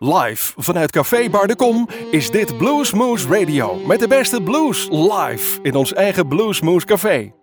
Live vanuit Café Bar de Kom is dit Bluesmoose Radio. Met de beste blues live in ons eigen Bluesmoose Café.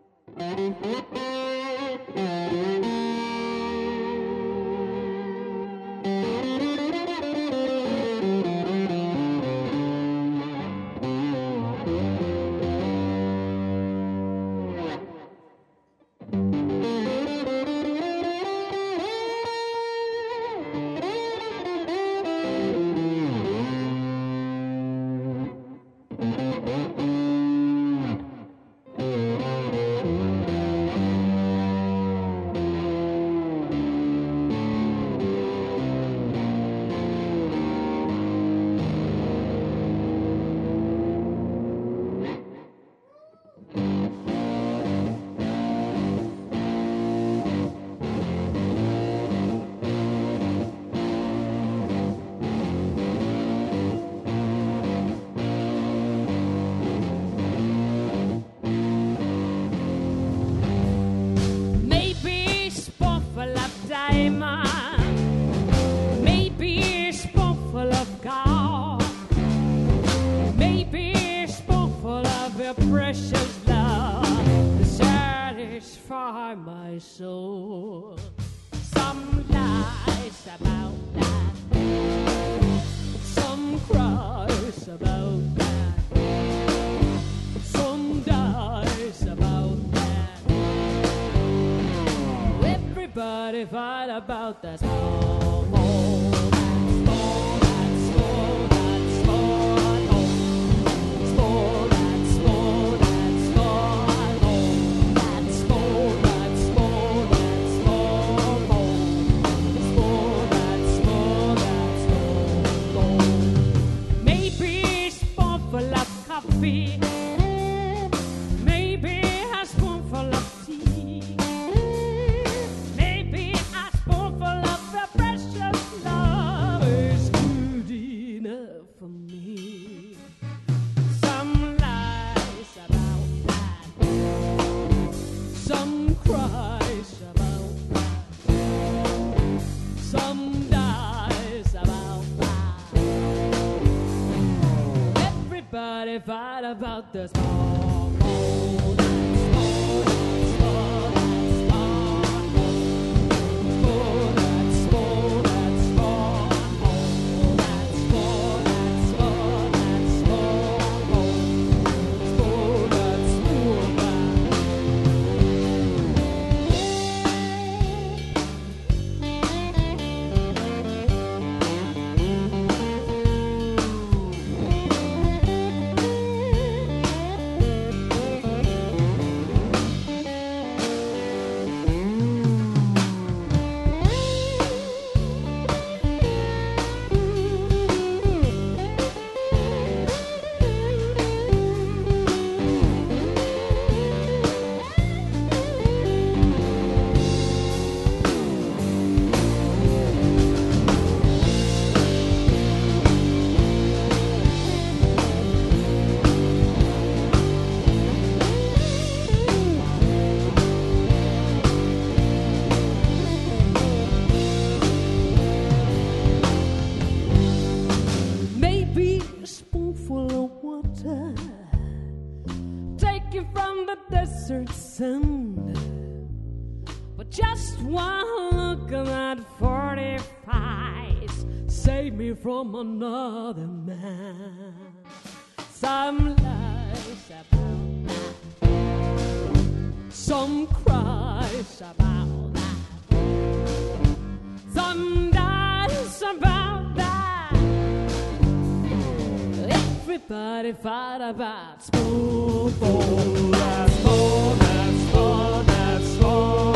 About that maybe a spoonful of coffee, maybe a spoonful of tea, maybe a spoonful of the precious love is good enough for me. Some lies about that, some cries about that, some dies about that. Everybody fight about the small boat. But just one look at that 45 save me from another man. Some lies about that, some cries about that, some dies about that. Everybody fight about spoonful. That's more, that's more, that's more.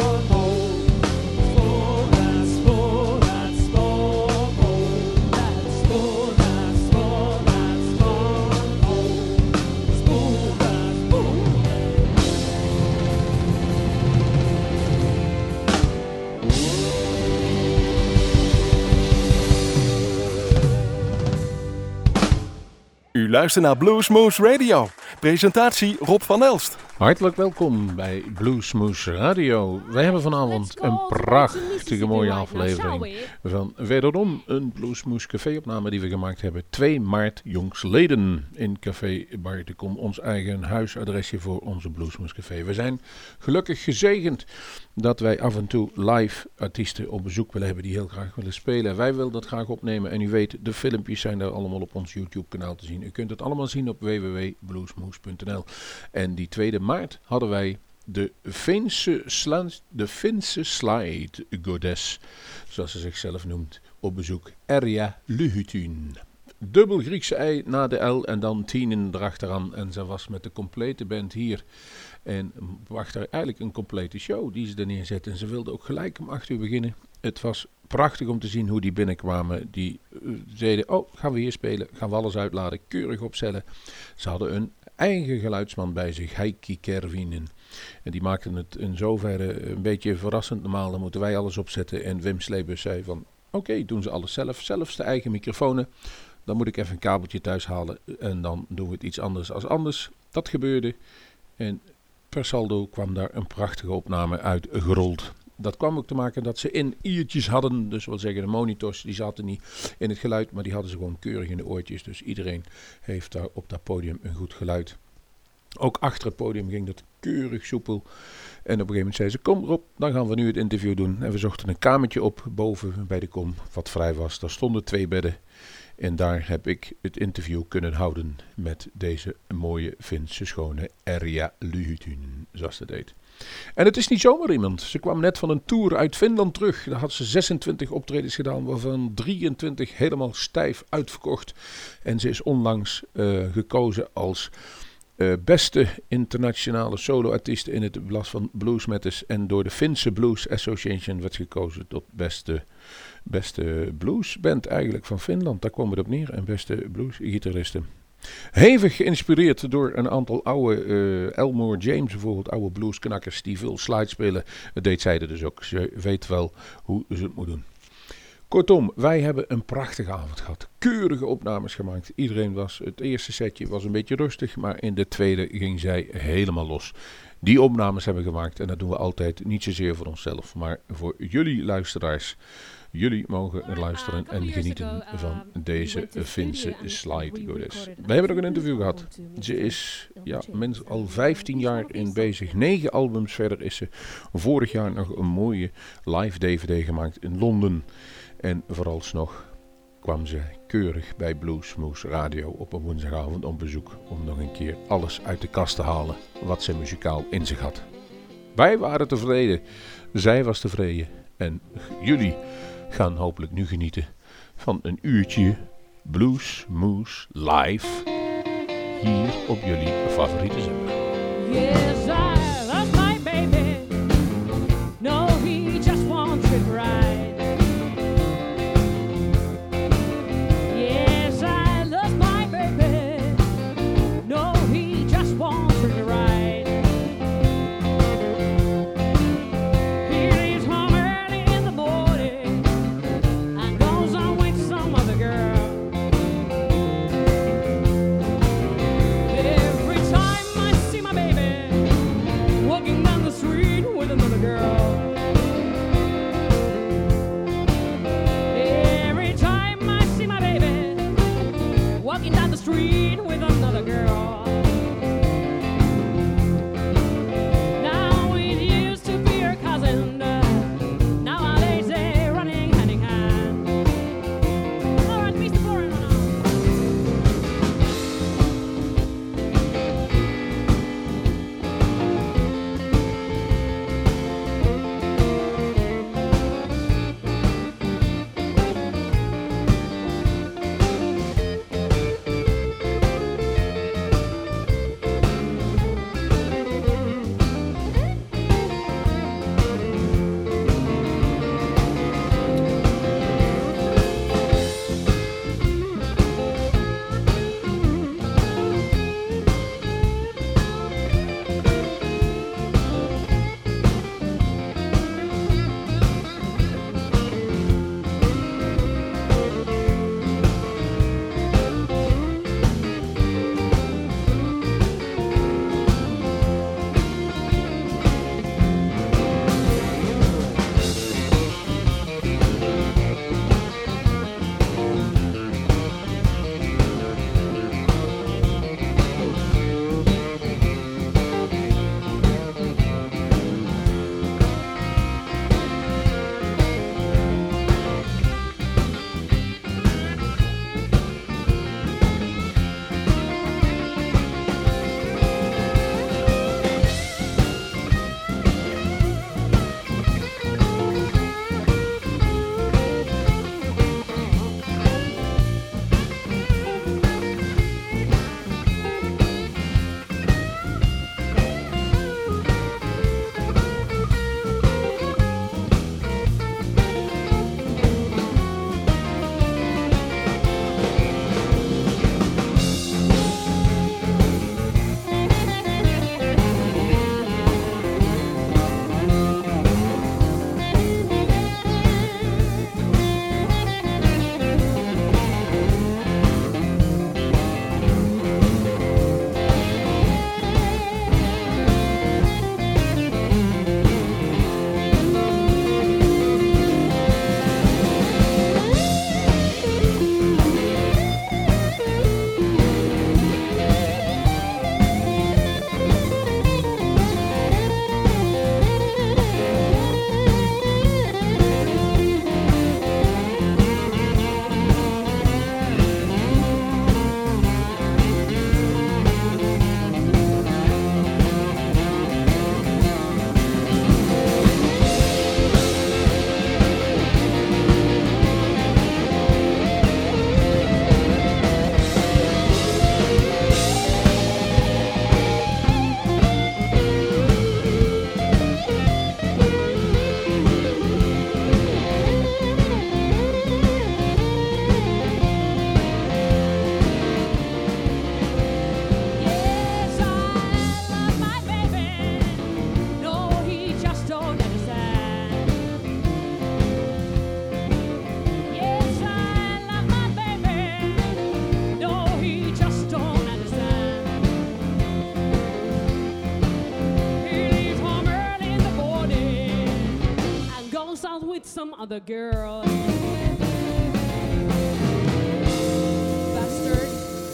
U luistert naar Bluesmoose Radio. Presentatie Rob van Elst. Hartelijk welkom bij Bluesmoose Radio. Wij hebben vanavond een prachtige mooie aflevering van wederom een Bluesmoose café-opname die we gemaakt hebben 2 maart jongstleden in Café Bar de Kom, ons eigen huisadresje voor onze Bluesmoose café. We zijn gelukkig gezegend dat wij af en toe live artiesten op bezoek willen hebben die heel graag willen spelen. Wij willen dat graag opnemen en u weet, de filmpjes zijn daar allemaal op ons YouTube kanaal te zien. U kunt het allemaal zien op www.bluesmoose.nl. En die 2 maart hadden wij de Finse slide goddess, zoals ze zichzelf noemt, op bezoek. Erja Lyhytyn. Dubbel Griekse ei na de L en dan 10 erachteraan. En ze was met de complete band hier. En wacht er eigenlijk een complete show die ze er neerzet. En ze wilde ook gelijk om 8 uur beginnen. Het was prachtig om te zien hoe die binnenkwamen. Die zeiden, oh, gaan we hier spelen? Gaan we alles uitladen? Keurig opstellen. Ze hadden een eigen geluidsman bij zich, Heikki Kervinen. En die maakten het in zoverre een beetje verrassend. Normaal dan moeten wij alles opzetten. En Wim Sleebus zei van, oké, doen ze alles zelf. Zelfs de eigen microfoons. Dan moet ik even een kabeltje thuis halen en dan doen we het iets anders als anders. Dat gebeurde en per saldo kwam daar een prachtige opname uit gerold. Dat kwam ook te maken dat ze in iertjes hadden, dus wat zeggen de monitors, die zaten niet in het geluid, maar die hadden ze gewoon keurig in de oortjes. Dus iedereen heeft daar op dat podium een goed geluid. Ook achter het podium ging dat keurig soepel. En op een gegeven moment zei ze, kom Rob, dan gaan we nu het interview doen. En we zochten een kamertje op boven bij de kom, wat vrij was. Daar stonden 2 bedden. En daar heb ik het interview kunnen houden met deze mooie Finse schone Erja Lyhytyn, zoals ze deed. En het is niet zomaar iemand. Ze kwam net van een tour uit Finland terug. Daar had ze 26 optredens gedaan, waarvan 23 helemaal stijf uitverkocht. En ze is onlangs gekozen als beste internationale solo-artiest in het blad van Blues Matters. En door de Finse Blues Association werd gekozen tot beste bluesband eigenlijk van Finland. Daar kwam het op neer. En beste bluesgitaristen. Hevig geïnspireerd door een aantal oude Elmore James bijvoorbeeld, oude bluesknakkers die veel slide spelen. Dat deed zij er dus ook. Ze weet wel hoe ze het moet doen. Kortom, wij hebben een prachtige avond gehad. Keurige opnames gemaakt. Het eerste setje was een beetje rustig, maar in de tweede ging zij helemaal los. Die opnames hebben we gemaakt en dat doen we altijd niet zozeer voor onszelf, maar voor jullie luisteraars. Jullie mogen luisteren en genieten van deze Finse slide goddess. We hebben ook een interview gehad. Ze is al 15 jaar in bezig. 9 albums verder is ze vorig jaar nog een mooie live DVD gemaakt in Londen. En vooralsnog kwam ze keurig bij Bluesmoose Radio op een woensdagavond op bezoek om nog een keer alles uit de kast te halen wat ze muzikaal in zich had. Wij waren tevreden, zij was tevreden en jullie gaan hopelijk nu genieten van een uurtje Bluesmoose live hier op jullie favoriete zender. Yes, I love my baby. No, he just wants it right. Yes, I love my baby. No, he just wants it right. He leaves home early in the morning and goes on with some other girl. Every time I see my baby, other girl. Bastard.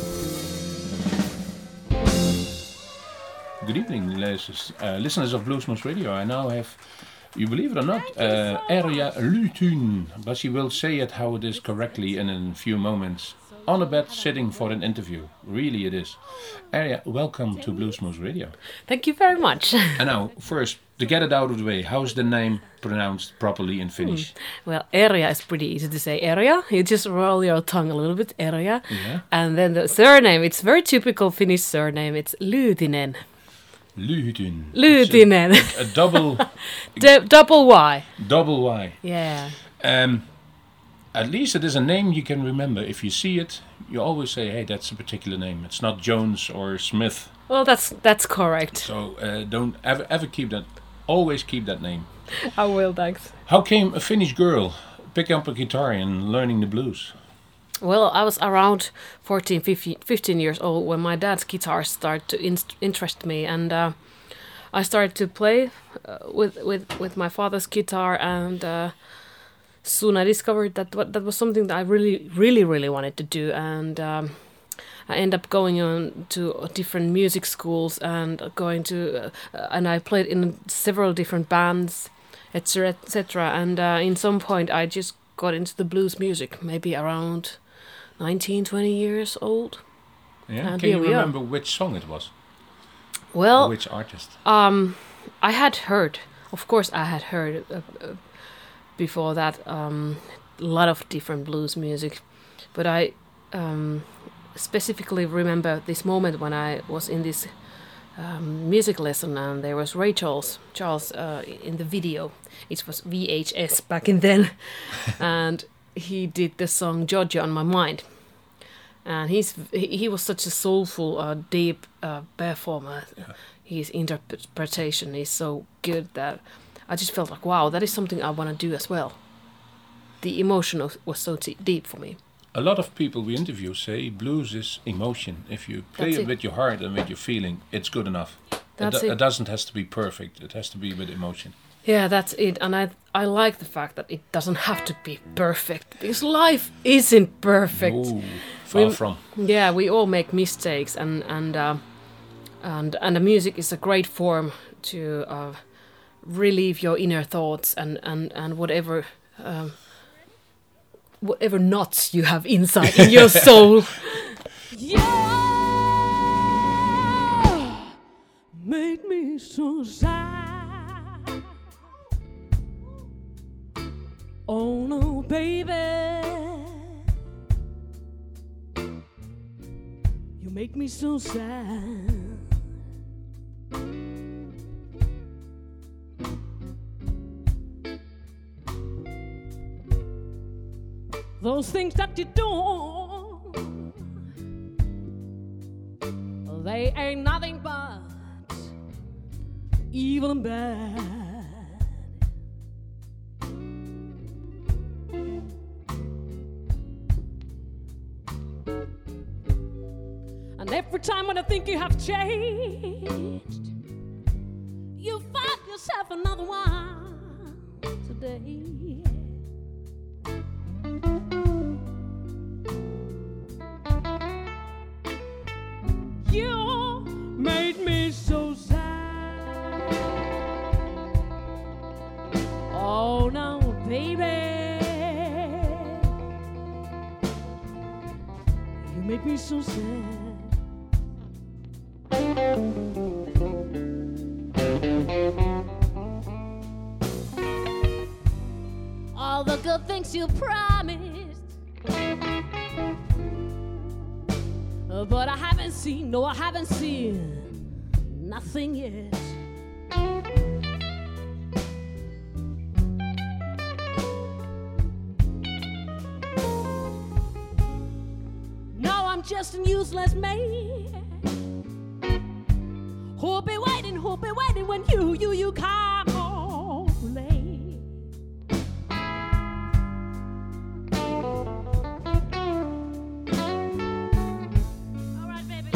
Good evening, listeners of Bluesmoose Radio. I now have, you believe it or not, Erja Lutun, but she will say it how it is correctly in a few moments. On a bed, sitting for an interview. Really it is. Erja, welcome to Bluesmoose Radio. Thank you very much. And now, first, to get it out of the way, how is the name pronounced properly in Finnish? Well, Erja is pretty easy to say. Erja, you just roll your tongue a little bit, Erja. Yeah. And then the surname, it's very typical Finnish surname. It's Lyytinen. Lyytyn. Lyytinen. A double... Double Y. Double Y. Yeah. At least it is a name you can remember. If you see it, you always say, hey, that's a particular name. It's not Jones or Smith. Well, that's correct. So don't ever keep that. Always keep that name. I will, thanks. How came a Finnish girl picking up a guitar and learning the blues? Well, I was around 14, 15 years old when my dad's guitar started to interest me, and I started to play with my father's guitar, and soon I discovered that that was something that I really wanted to do, and I ended up going on to different music schools and and I played in several different bands, etc., etc. And in some point I just got into the blues music, maybe around 19, 20 years old. Yeah. And Can you here we are. remember which song it was? Well, Or which artist? I had heard before that a lot of different blues music, but I specifically remember this moment when I was in this music lesson, and there was Ray Charles in the video. It was VHS back in then, and he did the song "Georgia on My Mind," and he was such a soulful, deep performer. Yeah. His interpretation is so good that I just felt like, wow, that is something I want to do as well. The emotion was so deep for me. A lot of people we interview say blues is emotion. If you play That's it it. with your heart and with your feeling, it's good enough. That's It it. doesn't have to be perfect. It has to be with emotion. Yeah, that's it. And I like the fact that it doesn't have to be perfect, because life isn't perfect. Ooh, far from. Yeah, we all make mistakes, and the music is a great form to relieve your inner thoughts and whatever knots you have inside in your soul. You made me so sad. Oh no, baby. You make me so sad. Those things that you do, they ain't nothing but evil and bad. And every time when I think you have changed, you find yourself another one today. You made me so sad. Oh no, baby. You make me so sad. All the good things you promised, but I haven't seen nothing yet. Now I'm just a useless man who'll be waiting when you come home late. All right, baby.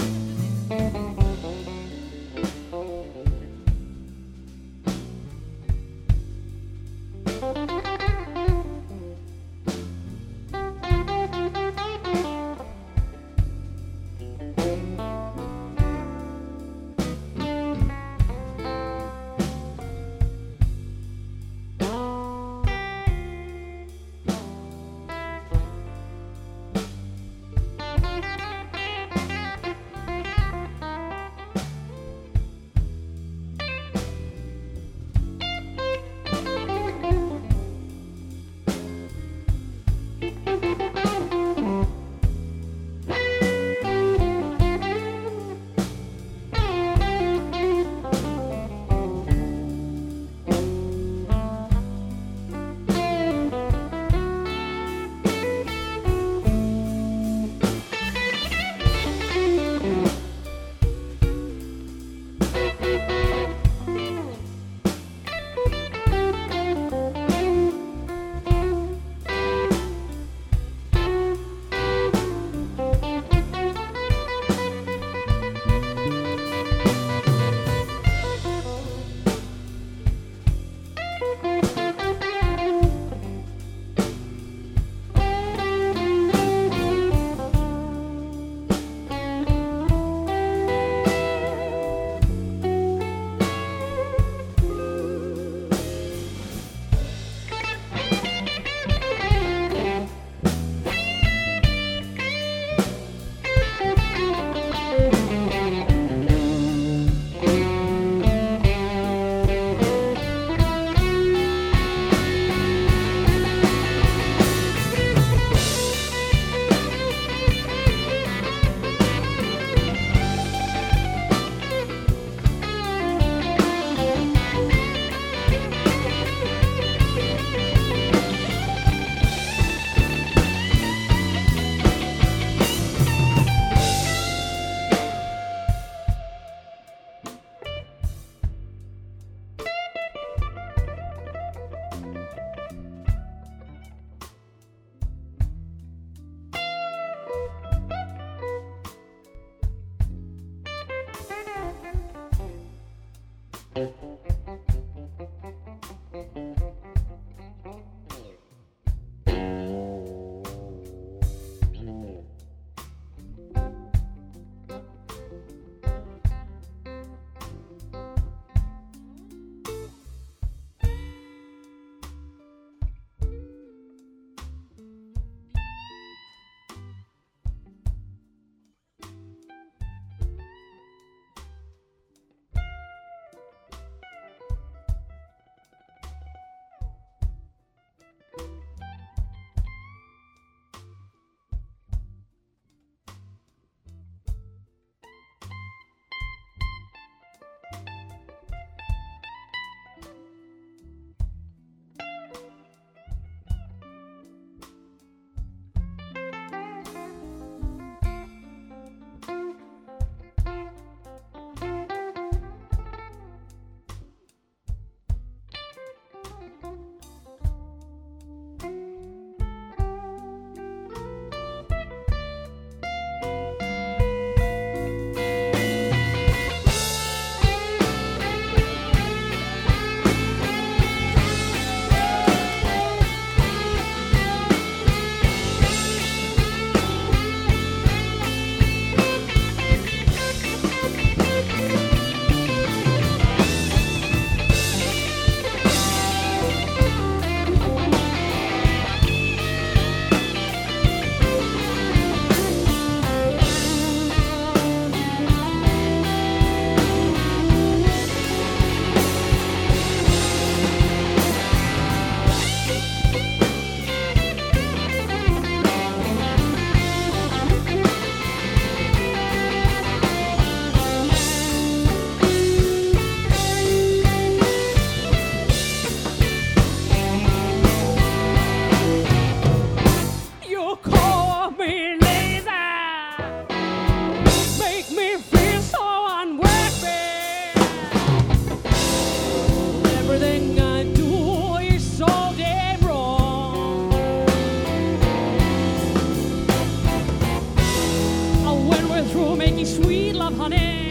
love, honey.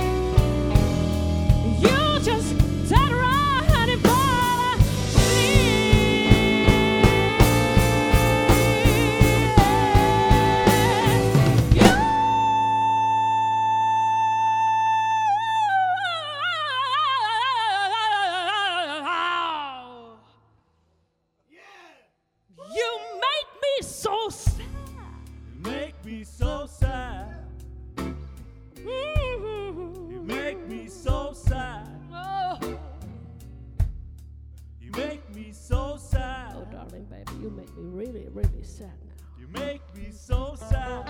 You just turn around and fall asleep. You make me so sad. Make me so sad. You make me so sad. Oh, You make me so sad. oh, darling baby, you make me really, really sad now. You make me so sad.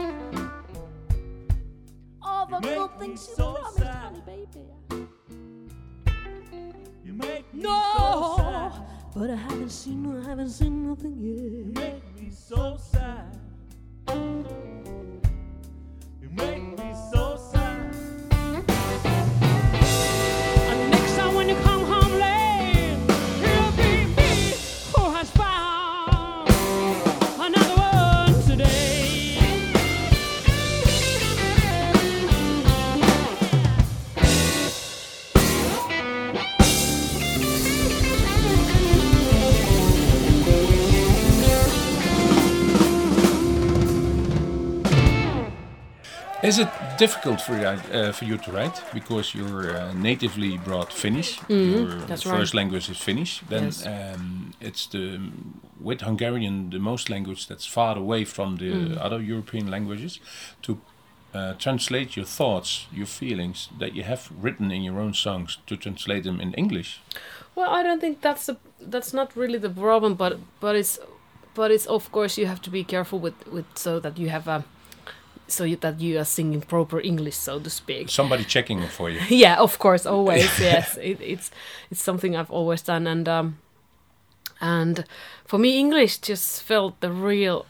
All the You make good me things you so promised, sad. honey, baby. You make me so No, sad. but I haven't seen nothing You yet. make me so sad. You make me so sad. And next time when you come home late, it'll be me who has found another one today. Is it difficult for you to write because you're natively brought Finnish? Your that's first right. language is Finnish. Then Yes. it's with Hungarian the most language that's far away from the other European languages. To translate your thoughts, your feelings that you have written in your own songs, to translate them in English. Well, I don't think that's not really the problem, but it's of course you have to be careful with so that you have that you are singing proper English, so to speak. Somebody checking it for you. Yeah, of course, always. Yes, it's something I've always done, and for me, English just felt the real,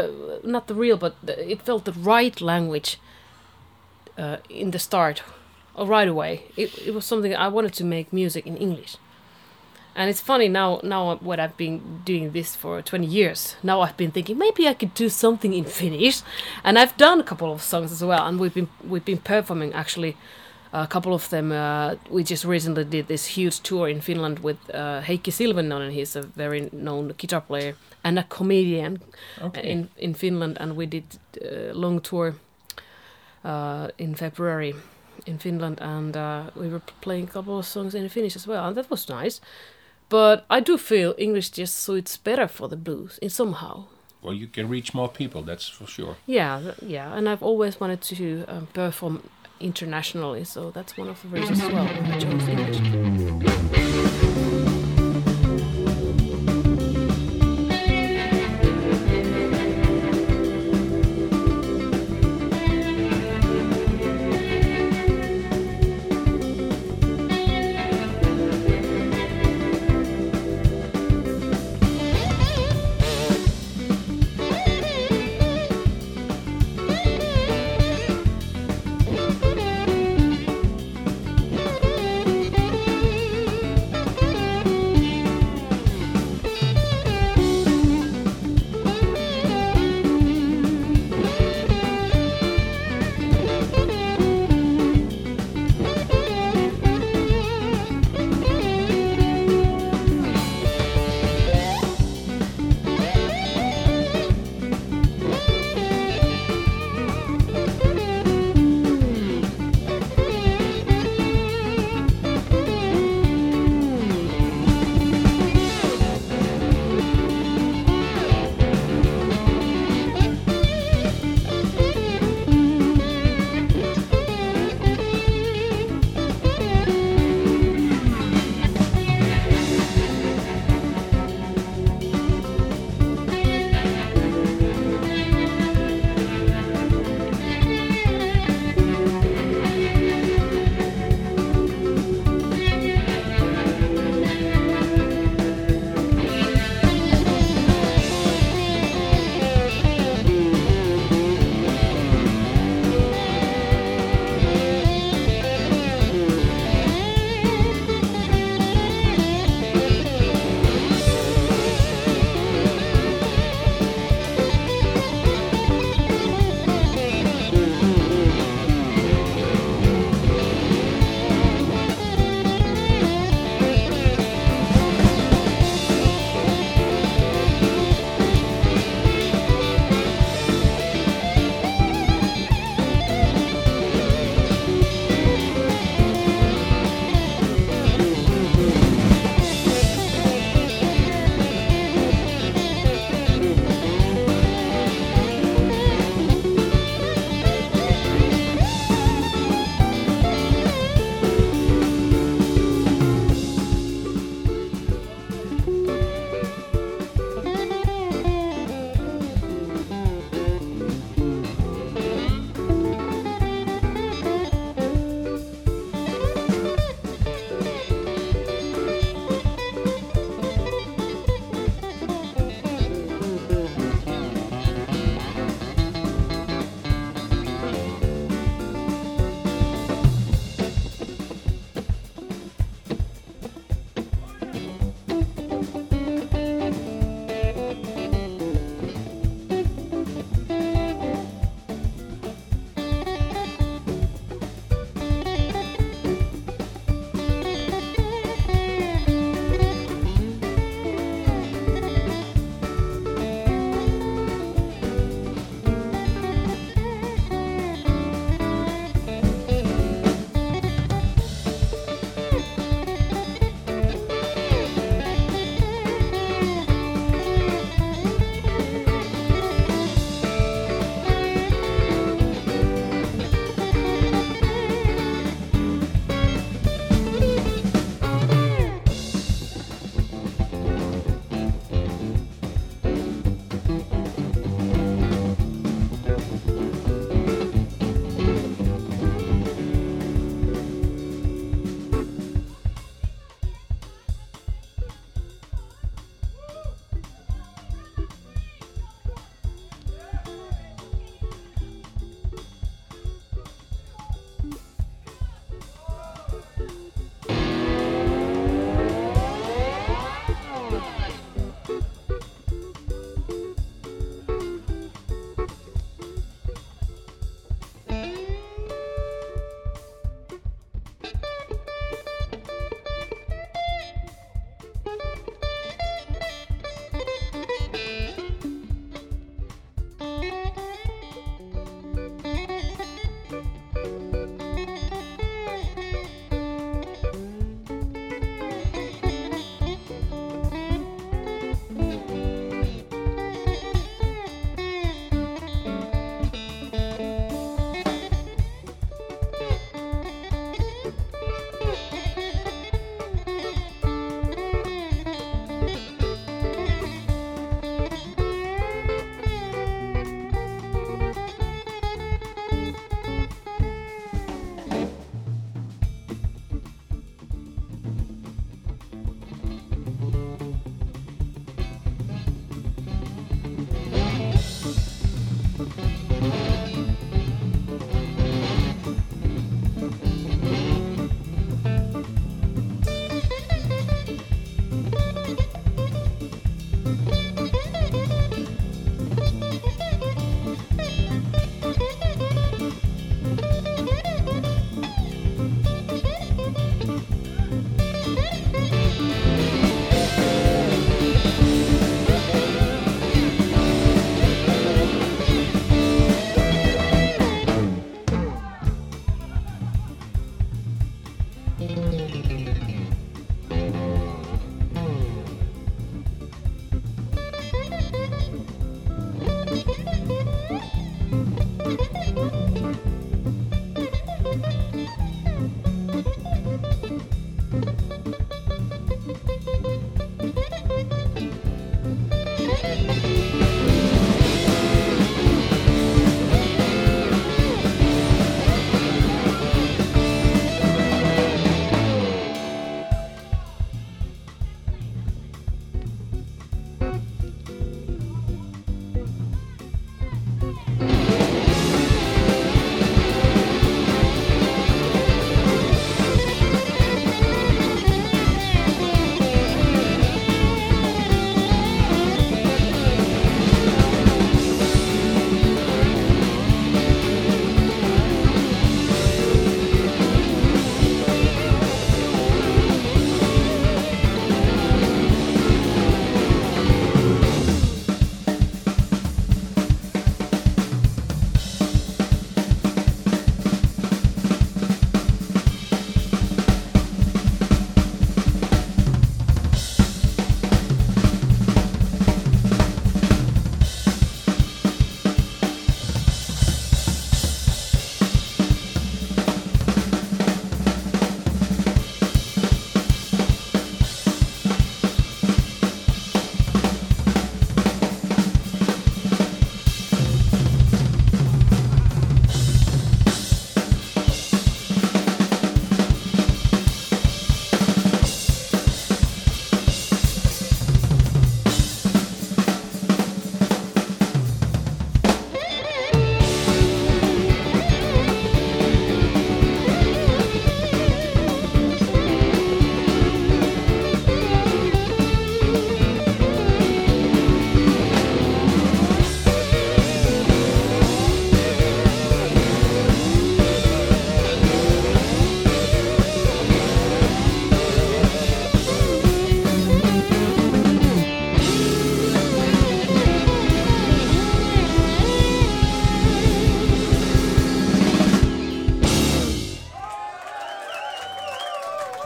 it felt the right language in the start, right away. It was something I wanted to make music in English. And it's funny now when I've been doing this for 20 years, now I've been thinking maybe I could do something in Finnish. And I've done a couple of songs as well, and we've been performing actually a couple of them. We just recently did this huge tour in Finland with Heikki Silvennoinen. He's a very known guitar player and a comedian in Finland, and we did a long tour in February in Finland, and we were playing a couple of songs in Finnish as well, and that was nice. But I do feel English just suits better for the blues in somehow. Well, you can reach more people, that's for sure. Yeah, and I've always wanted to perform internationally, so that's one of the reasons as well I chose English.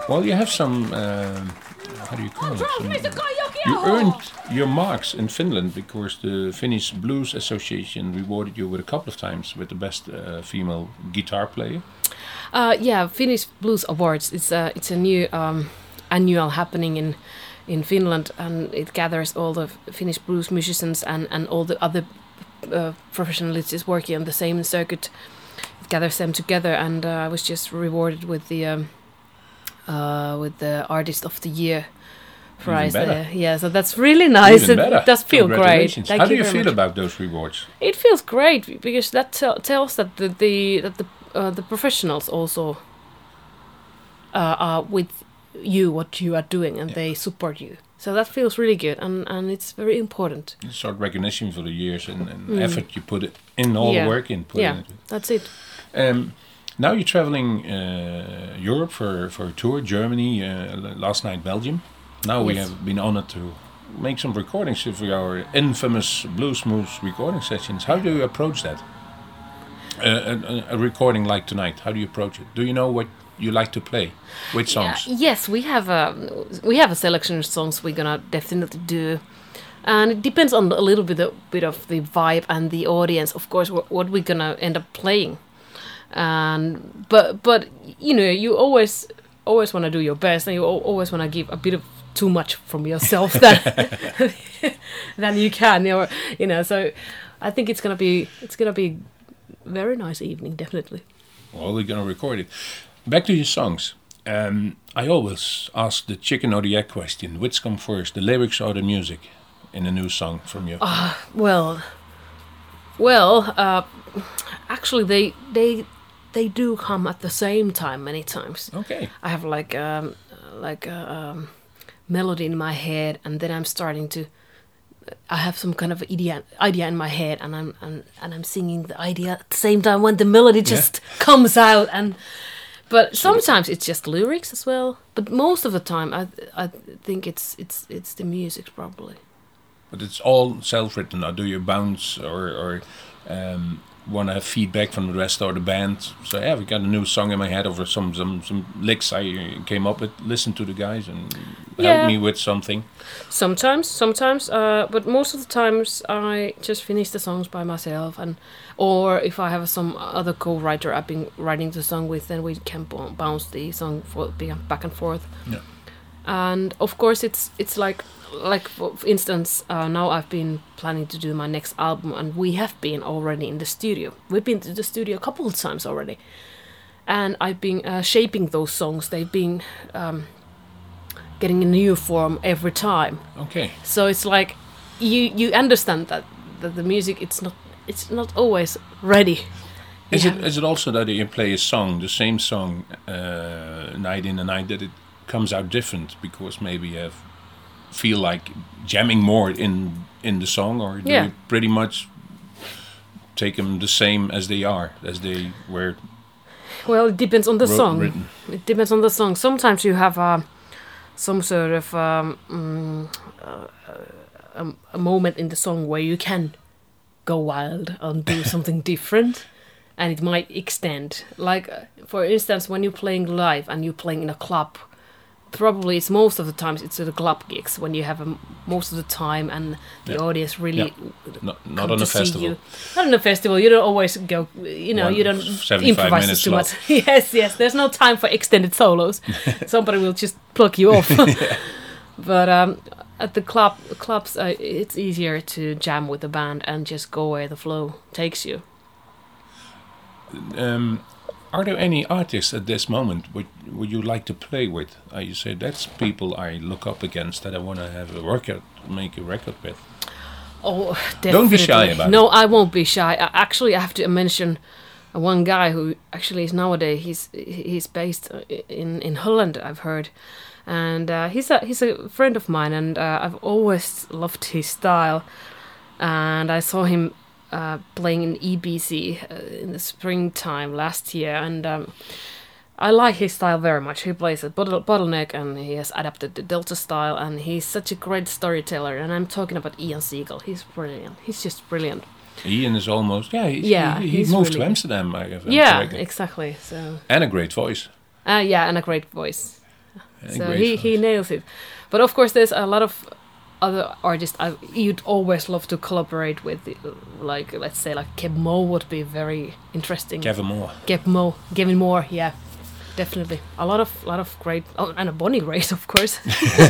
Well, you have some. How do you call it? You earned your marks in Finland because the Finnish Blues Association rewarded you with a couple of times with the best female guitar player. Yeah, Finnish Blues Awards. It's a new annual happening in Finland, and it gathers all the Finnish blues musicians and all the other professionals working on the same circuit. It gathers them together, and I was just rewarded with the Artist of the Year prize there. Yeah, so that's really nice. Even better. It does feel great. Congratulations. How do you very feel much. about those rewards? It feels great because that tells that the professionals also are with you, what you are doing, and they support you. So that feels really good, and it's very important. Sort of recognition for the years and effort you put in, all the work in. Put into it. That's it. Now you're traveling Europe for a tour, Germany, last night Belgium. Now we Yes. have been honored to make some recordings for our infamous Blues Moose recording sessions. How do you approach that? A recording like tonight, how do you approach it? Do you know what you like to play? Which songs? Yes, we have a selection of songs we're gonna definitely do, and it depends on a little bit of the vibe and the audience, of course, what we're gonna end up playing. And but you know, you always want to do your best, and you always want to give a bit of too much from yourself than you can, you know. So I think it's gonna be very nice evening, definitely. Well, we're gonna record it. Back to your songs. I always ask the chicken or the egg question. Which come first, the lyrics or the music, in a new song from you? Actually, they do come at the same time many times. Okay. I have like a melody in my head, and then I'm starting to. I have some kind of idea in my head, and I'm singing the idea at the same time when the melody just comes out. But sometimes it's just lyrics as well. But most of the time, I think it's the music probably. But it's all self-written. Or do you bounce or want to have feedback from the rest of the band? So yeah, we got a new song in my head over some licks I came up with. Listen to the guys and help me with something. Sometimes, but most of the times I just finish the songs by myself, or if I have some other co-writer I've been writing the song with, then we can bounce the song back and forth. Yeah. And of course, it's like for instance, now I've been planning to do my next album, and we have been already in the studio. We've been to the studio a couple of times already, and I've been shaping those songs. They've been getting a new form every time. Okay. So it's like you understand that the music it's not always ready. Is it also that you play a song, the same song, night in and night, that it comes out different because maybe you feel like jamming more in the song, or do you pretty much take them the same as they were? Well, it depends on the song. Written. It depends on the song. Sometimes you have some sort of a moment in the song where you can go wild and do something different, and it might extend. Like for instance, when you're playing live and you're playing in a club, probably it's most of the times it's the club gigs when you have most of the time and the audience really not on a festival. Not on a festival, you don't always go. You know, you don't 75 improvise minutes too much. Yes. There's no time for extended solos. Somebody will just pluck you off. But at the clubs, it's easier to jam with the band and just go where the flow takes you. Are there any artists at this moment would you like to play with? You say that's people I look up against that I want to have make a record with. Oh, definitely. Don't be shy about it. No, I won't be shy. Actually, I have to mention one guy who actually is nowadays he's based in Holland, I've heard, and he's a friend of mine, and I've always loved his style, and I saw him playing in EBC in the springtime last year, and I like his style very much. He plays a bottleneck, and he has adapted the Delta style, and he's such a great storyteller, and I'm talking about Ian Siegel. He's brilliant. He's just brilliant. Ian is almost he he's moved really to Amsterdam. Exactly. So and a great voice. and a great voice. So great he voice. nails it. But of course, there's a lot of other artists you'd always love to collaborate with. Like, let's say, like Keb Mo would be very interesting. Kevin Moore. Gavin Moore, yeah, definitely. A lot of great, and a Bonnie Raitt, of course.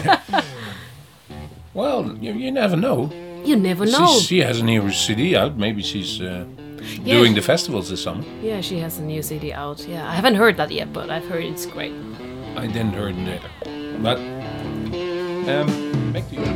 Well, you never know. You never know. She has a new CD out. Maybe she's doing the festivals this summer. Yeah, she has a new CD out. Yeah, I haven't heard that yet, but I've heard it's great. I didn't hear it either. But back to you.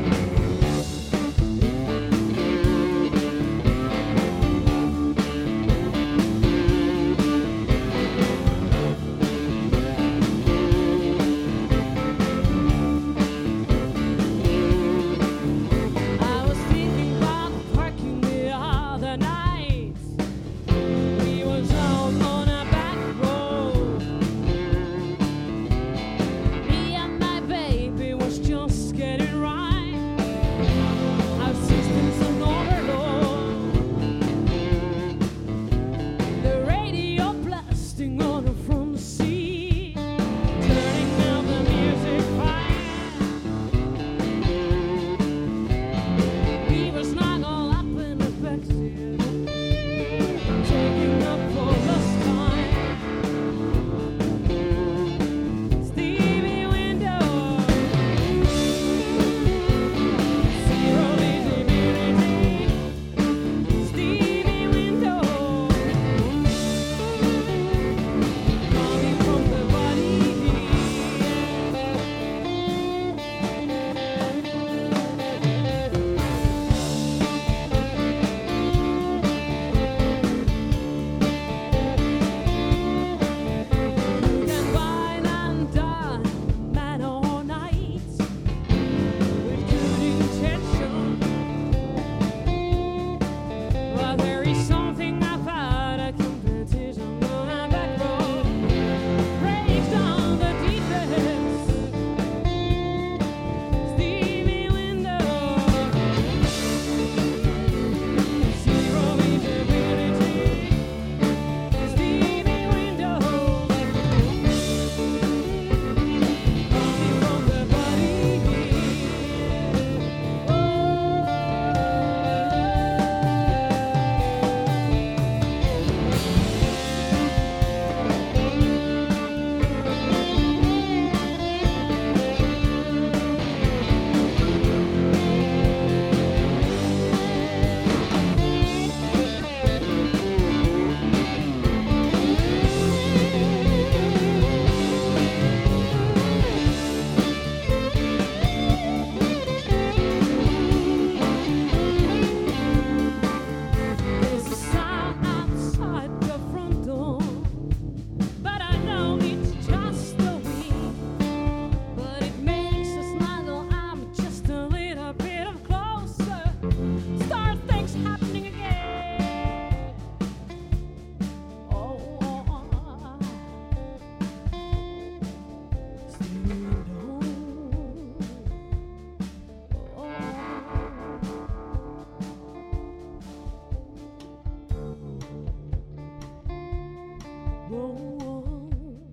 I was thinking about parking the other night. We was out on a back road. Me and my baby was just getting right. Our systems on overload. The radio blasting on the front seat, turning out the music fine. We were snuggled up in the backseat, taking up all this time. Stevie Windows, zero visibility. Stevie Windows, coming from the body. You can wine and dine, man all night, with good intention. But there is something about a competition on a back road, breaks down the defense. Stevie Windows, zero visibility. Stevie Windows, coming from the body. There's a sign outside the front door, but I know it's just a week. But it makes us snuggle. I'm just a little bit of closer. Start things happening again. Oh, Stevie Windows. Whoa.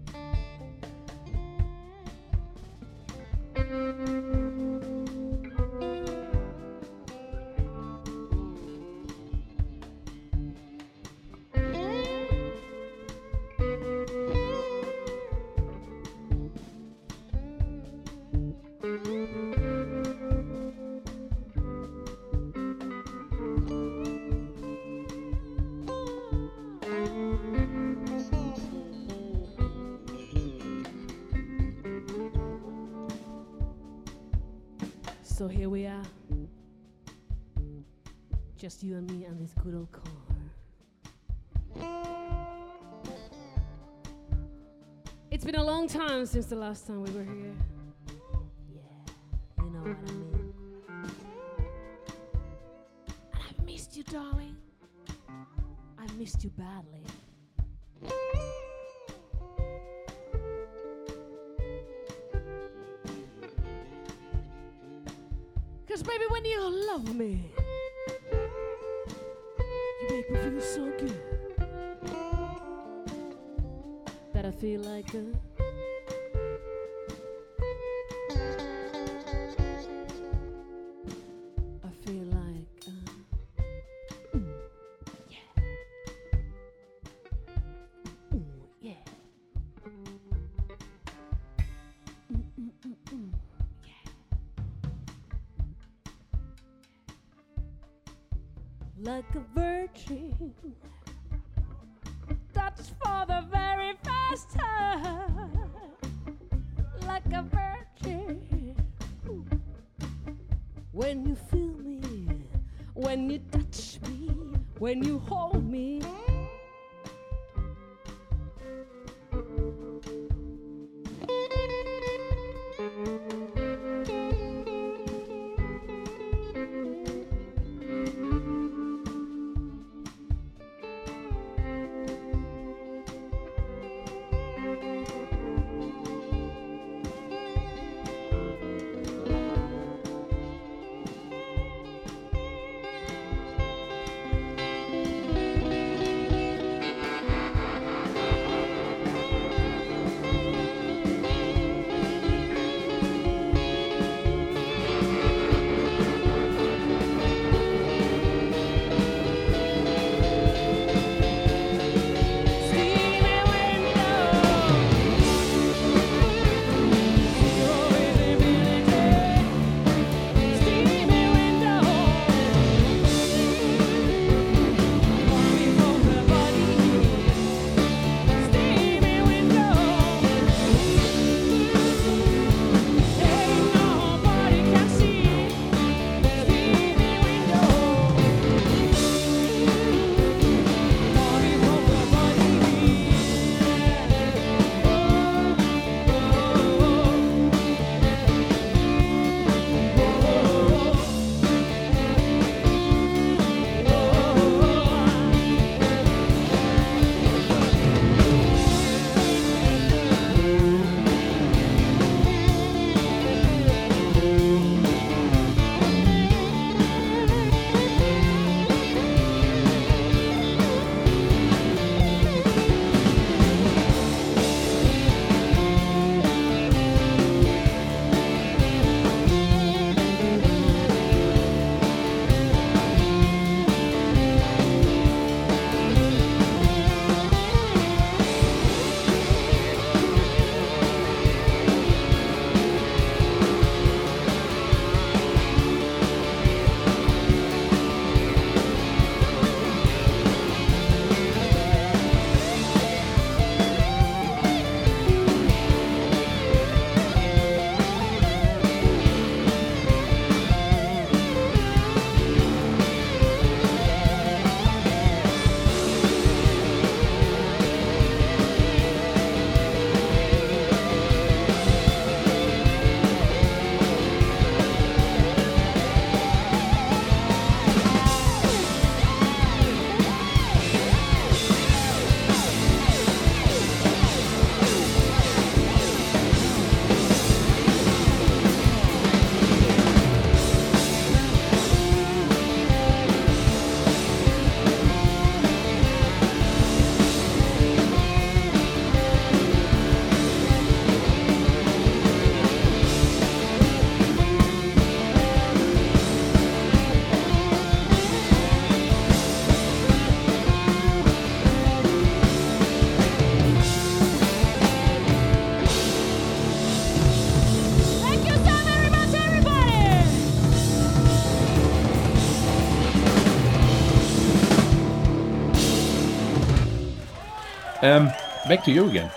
So here we are, just you and me and this good old car. It's been a long time since the last time we were here. Yeah, you know what I mean. And I've missed you, darling. I've missed you badly. 'Cause baby, when you love me, you make me feel so good that I feel like like a virgin. Touch for the very first time, like a virgin. When you feel me, when you touch me, when you hold me. Back to you again.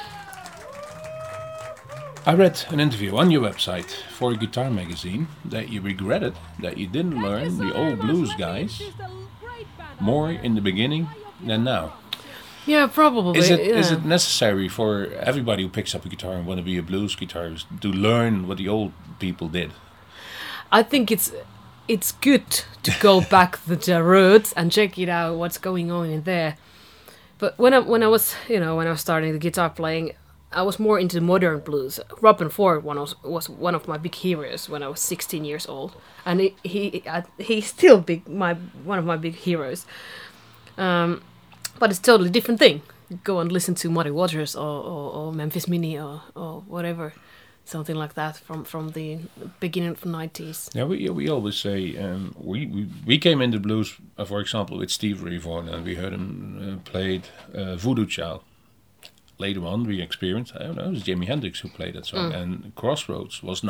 I read an interview on your website for a guitar magazine that you regretted that you didn't learn the old blues guys more in the beginning than now. Yeah, probably. Is it necessary for everybody who picks up a guitar and want to be a blues guitarist to learn what the old people did? I think it's good to go back to the roots and check it out, what's going on in there. But when I was starting the guitar playing, I was more into modern blues. Robin Ford was one of my big heroes when I was 16 years old, and he's still one of my big heroes. But it's totally different thing. Go and listen to Muddy Waters or Memphis Minnie or whatever, something like that from the beginning of the 90s. Yeah, we always say we came into blues, for example, with Steve Ray Vaughan, and we heard him played Voodoo Child. Later on, we experienced, I don't know, it was Jimi Hendrix who played that song, and Crossroads was not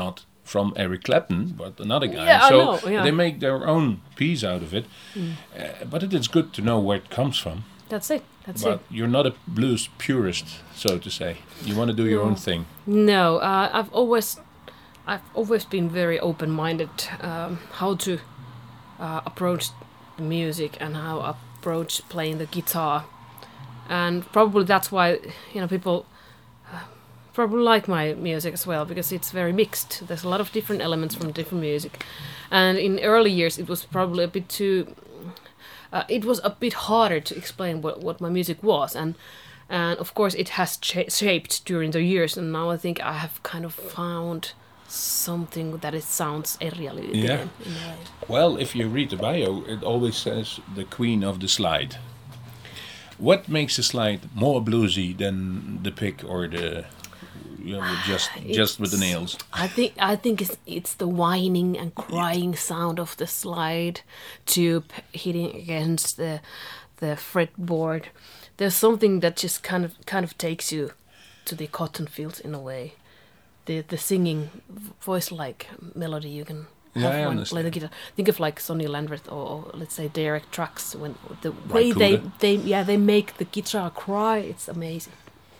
from Eric Clapton, but another guy. Yeah, I so know, yeah. they make their own piece out of it. But it is good to know where it comes from. That's it. That's But it. you're not a blues purist, so to say. You want to do your own thing. No, I've always been very open-minded how to approach the music and how approach playing the guitar, and probably that's why people probably like my music as well, because it's very mixed. There's a lot of different elements from different music, and in early years it was probably a bit too. It was a bit harder to explain what my music was, and of course it has shaped during the years, and now I think I have kind of found something that it sounds really Yeah. in a way. Well, if you read the bio, it always says the queen of the slide. What makes the slide more bluesy than the pick or the just with the nails? I think it's the whining and crying sound of the slide tube hitting against the fretboard. There's something that just kind of takes you to the cotton fields in a way. The singing voice-like melody you can Yeah, I have when understand. play the guitar. Think of like Sonny Landreth or let's say Derek Trucks, when the way Raikuda. they make the guitar cry. It's amazing.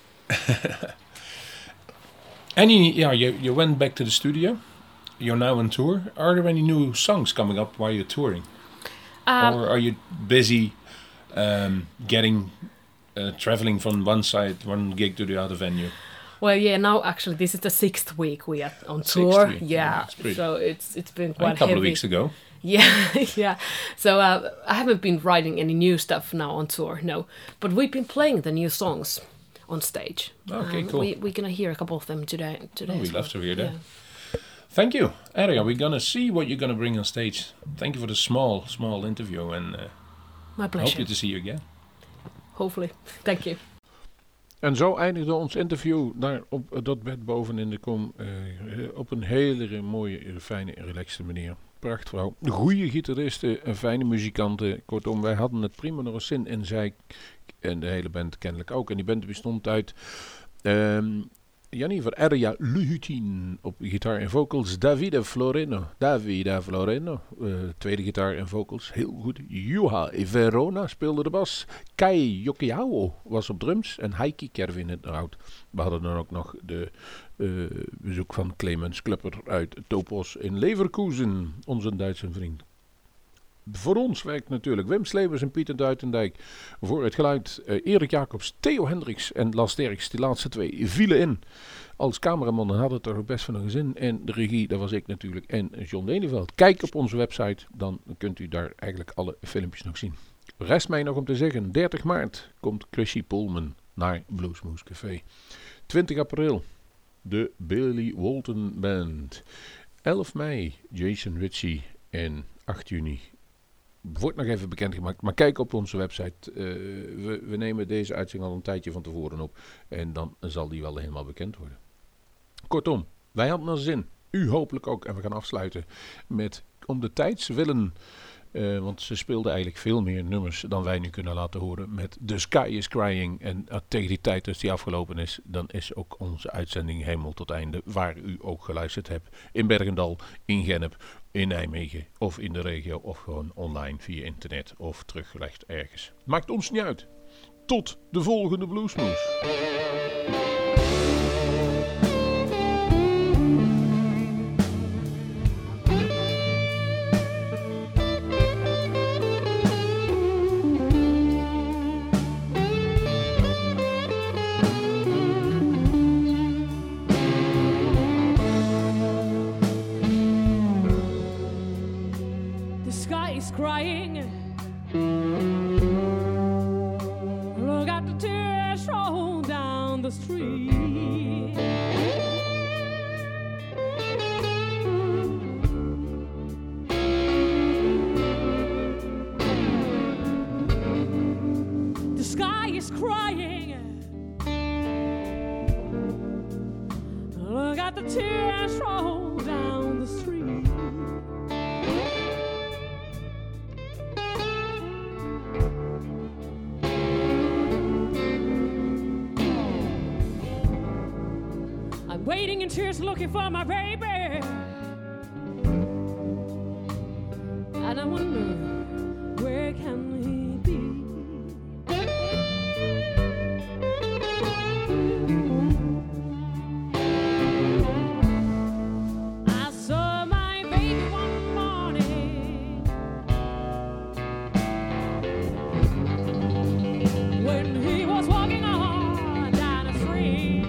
You went back to the studio. You're now on tour. Are there any new songs coming up while you're touring? Or are you busy traveling from one gig to the other venue? Well, yeah. Now, actually, this is the 6th week we are on Sixth tour. week, Yeah, yeah, it's pretty- so it's been A quite couple heavy. of weeks ago. Yeah, yeah. So I haven't been writing any new stuff now on tour, no. But we've been playing the new songs on stage. Okay, cool. We're gonna hear a couple of them today. Oh, we'd as love well. to hear that. Yeah. Thank you, Erja. We're gonna see what you're gonna bring on stage. Thank you for the small interview, and My I pleasure. hope to see you again. Hopefully. Thank you. En zo eindigde ons interview daar op dat bed boven in de kom op een hele mooie, fijne, relaxte manier. Prachtvrouw, goede gitaristen, fijne muzikanten. Kortom, wij hadden het prima nog eens zin en zij en de hele band kennelijk ook. En die band bestond uit Jannie van Erja Luhutin op gitaar en vocals. Davide Floreno, tweede gitaar en vocals. Heel goed. Juha Verona speelde de bas. Kai Yokiao was op drums. En Heikki Kervin het hout. We hadden dan ook nog de bezoek van Clemens Klepper uit Topos in Leverkusen. Onze Duitse vriend. Voor ons werkt natuurlijk Wim Slevers en Pieter Duitendijk. Voor het geluid Erik Jacobs, Theo Hendricks en Las Derks. Die laatste twee vielen in. Als cameraman hadden het er ook best van een gezin. En de regie, dat was ik natuurlijk. En John Deneveld. Kijk op onze website, dan kunt u daar eigenlijk alle filmpjes nog zien. Rest mij nog om te zeggen, 30 maart komt Chrissy Pullman naar Bluesmoose Café. 20 april, de Billy Walton Band. 11 mei, Jason Ritchie. En 8 juni... Wordt nog even bekendgemaakt, maar kijk op onze website. We nemen deze uitzending al een tijdje van tevoren op. En dan zal die wel helemaal bekend worden. Kortom, wij hadden er zin. U hopelijk ook. En we gaan afsluiten met Om de Tijds Willen. Want ze speelden eigenlijk veel meer nummers dan wij nu kunnen laten horen. Met The Sky is Crying. En tegen die tijd als die afgelopen is, dan is ook onze uitzending helemaal tot einde. Waar u ook geluisterd hebt. In Bergendal, in Gennep, in Nijmegen of in de regio. Of gewoon online via internet of teruggelegd ergens. Maakt ons niet uit. Tot de volgende Bluesmoose. The sky is crying. Look at the tears roll down the street. The sky is crying. Look at the tears roll down the street. I'm waiting in tears looking for my baby. I wonder where can he be? I saw my baby one morning when he was walking on down the street.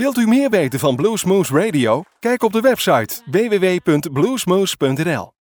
Wilt u meer weten van Bluesmoose Radio? Kijk op de website www.bluesmoose.nl.